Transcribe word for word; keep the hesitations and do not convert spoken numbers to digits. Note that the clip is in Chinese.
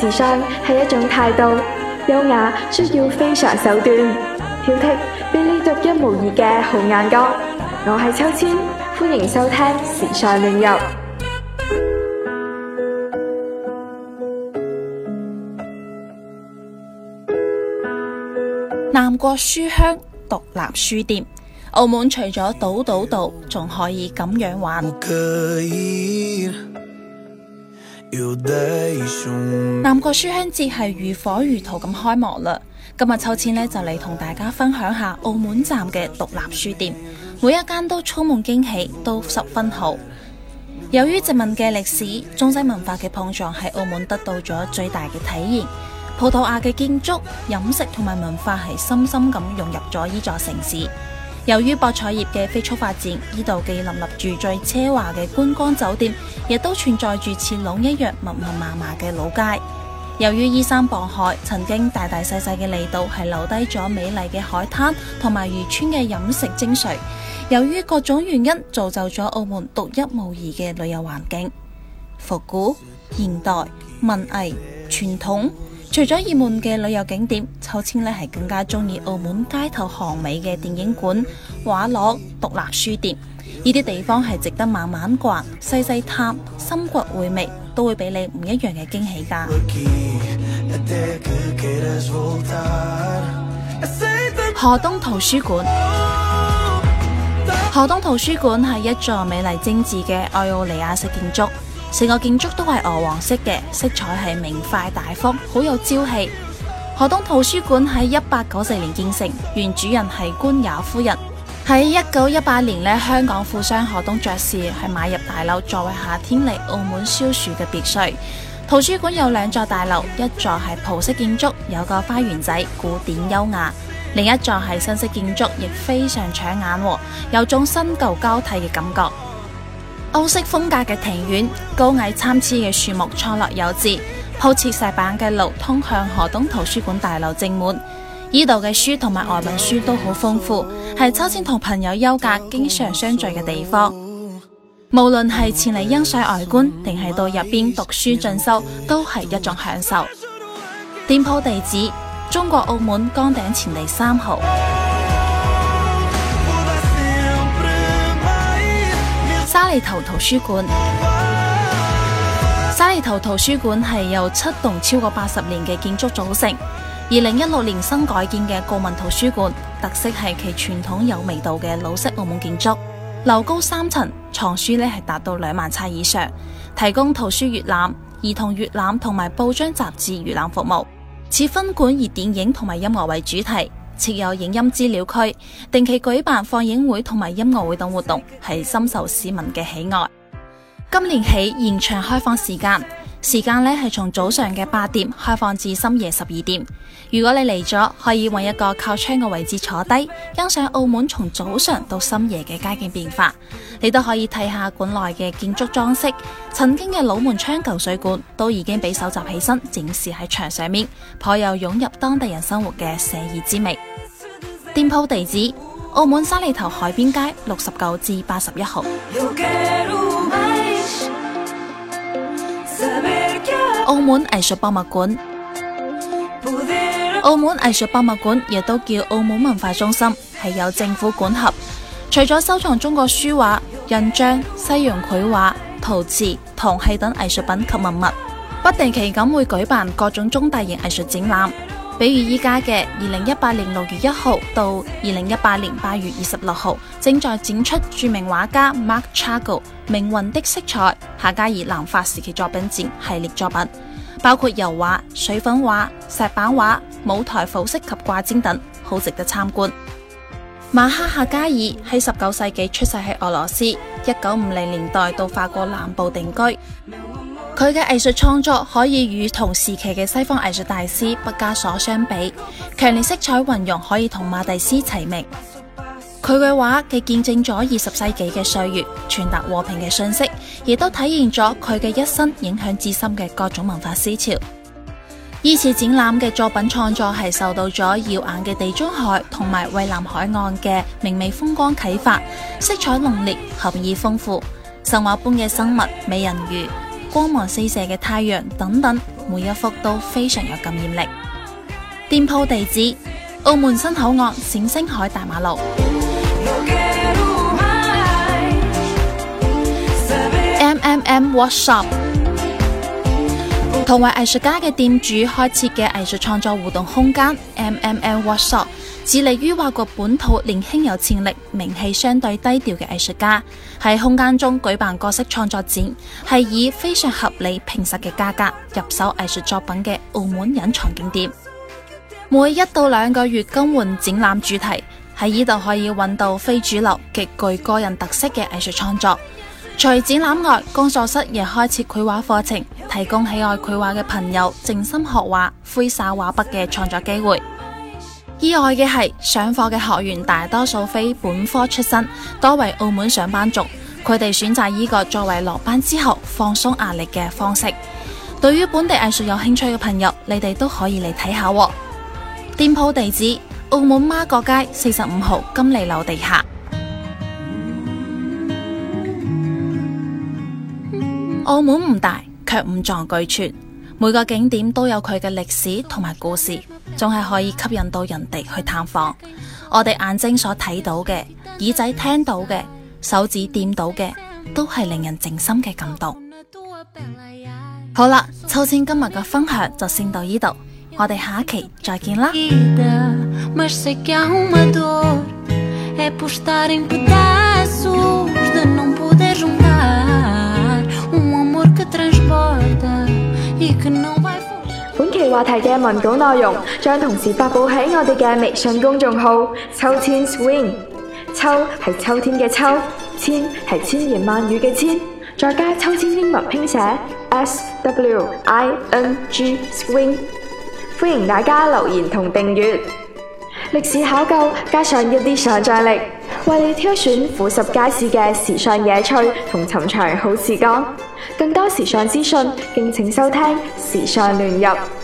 時尚係一種態度，優雅需要非常手段，挑剔俾你獨一無二嘅好眼光。我係秋千，歡迎收聽時尚亂入。 南國書香獨立書店，澳門除咗賭賭賭，仲可以咁樣玩。南國書香節係如火如荼咁開幕啦！今日秋千呢就嚟同大家分享下澳門站嘅獨立書店，每一間都充滿驚喜，都十分好。由於殖民嘅歷史，中西文化嘅碰撞喺澳門得到咗最大嘅體現。葡萄牙嘅建築、飲食同埋文化係深深咁融入咗呢座城市。由於博彩業嘅飛速發展，呢度既林立住最奢華嘅觀光酒店，亦都存在住似龍一樣密密麻麻嘅老街。由於依山傍海，曾經大大細細嘅離島係留低咗美麗嘅海灘同埋漁村嘅飲食精髓。由於各種原因，造就咗澳門獨一無二嘅旅遊環境，復古、現代、文藝、傳統。除咗熱門嘅旅遊景點，秋千呢係更加中意澳門街頭巷尾嘅電影館、畫廊、獨立書店。呢啲地方係值得慢慢逛、細細探、深掘回味，都會俾你唔一樣嘅驚喜㗎。河東圖書館，河東圖書館係一座美麗精緻嘅愛奧尼亞式建築。成個建築都係鵝黃色嘅，色彩係明快大方，好有朝氣。河東圖書館喺一八九四年建成，原主人係官也夫人。喺一九一八年呢，香港富商河東爵士係買入大樓，作為夏天嚟澳門消暑嘅別墅。圖書館有兩座大樓，一座係葡式建築，有個花園仔，古典優雅；另一座係新式建築，亦非常搶眼，有種新舊交替嘅感覺。歐式風格嘅庭院，高矮參差嘅樹木錯落有致，鋪設石板嘅路通向河東圖書館大樓正門。呢度嘅書同埋外文書都好豐富，係秋千同朋友休假經常相聚嘅地方。無論係前嚟欣賞外觀，定係到入邊讀書進修，都係一種享受。店鋪地址：中國澳門崗頂前地三號。沙梨頭圖書館，沙梨頭圖書館係由七棟超過八十年嘅建築組成，二零一六年新改建嘅國民圖書館，特色係其傳統有味道嘅老式澳門建築，樓高三層，藏書呢係達到兩萬冊以上，提供圖書閱覽、兒童閱覽同埋報章雜誌閱覽服務。此分館以電影同埋音樂為主題，設有影音資料區，定期舉辦放映會同埋音樂會等活動，係深受市民嘅喜愛。今年起延長開放時間，時間呢係從早上嘅八點開放至深夜十二點。如果你嚟咗，可以揾一個靠窗嘅位置坐低，欣賞澳門從早上到深夜嘅街景變化。你都可以睇下館內嘅建築裝飾，曾經嘅老門窗舊水管都已經被收集起身，展示喺牆上面，頗有湧入當地人生活嘅寫意之味。店鋪地址：澳門沙梨頭海邊街六十九至八十一號。澳門藝術博物館，澳門藝術博物館亦都叫澳門文化中心，係由政府管轄。除咗收藏中國書畫、印章、西洋繪畫、陶瓷、銅器等藝術品及文物，不定期咁會舉辦各種中大型藝術展覽。比如依家嘅二零一八年六月一號到二零一八年八月二十六號，正在展出著名畫家 Mark Chagall 命運的色彩夏加爾南法時期作品展系列作品，包括油畫、水粉畫、石板畫、舞台服飾及掛毯等，好值得參觀。馬克夏加爾喺十九世紀出世喺俄羅斯，一九五零年代到法國南部定居。佢嘅藝術創作可以與同時期嘅西方藝術大師畢加索相比，強烈色彩運用可以同馬蒂斯齊名。佢嘅畫既見證咗二十世紀嘅歲月，傳達和平嘅信息，亦都體現咗佢嘅一生影響至深嘅各種文化思潮。依次展覽嘅作品創作係受到咗耀眼嘅地中海同埋蔚藍海岸嘅明媚風光啟發，色彩濃烈，含義豐富，神話般嘅生物、美人魚、光芒四射嘅太陽等等， 每一幅都非常有感染力。店鋪地址：澳門新口岸冼星海大馬路。M M M Workshop 同為藝術家嘅店主開設嘅藝術創作互動空間 M M M Workshop， 致力於挖掘本土年輕有潛力、名氣相對低調嘅藝術家，喺空間中舉辦各式創作展，係以非常合理平實嘅價格入手藝術作品嘅澳門隱藏景點。每一到兩個月更換展覽主題，喺呢度可以揾到非主流、極具個人特色嘅藝術創作。除展覽外，工作室亦開設繪畫課程，提供喜愛繪畫嘅朋友靜心學畫、揮灑畫筆嘅創作機會。意外嘅係，上課嘅學員大多數非本科出身，多為澳門上班族，佢哋選擇呢個作為落班之後放鬆壓力嘅方式。對於本地藝術有興趣嘅朋友，你哋都可以嚟睇下喎。店鋪地址：澳門媽閣街四十五號金利樓地下。澳門唔大，卻五臟俱全，每個景點都有佢嘅歷史同埋故事，仲係可以吸引到人哋去探訪。我哋眼睛所睇到嘅，耳仔聽到嘅，手指掂到嘅，都係令人靜心嘅感動。好啦，秋千今日嘅分享就先到呢度，我哋下一期再見啦。 本期話題嘅文稿內容將同時發佈喺我哋嘅微信公眾號秋千 swing， 秋係秋天嘅秋，千係千言萬語嘅千，再加秋千英文拼寫 S W I N G swing， 歡迎大家留言同訂閱。歷史考究加上一啲想象力，為你挑選俯拾皆是嘅時尚野趣同尋常好時光。更多時尚資訊，敬請收聽時尚亂入。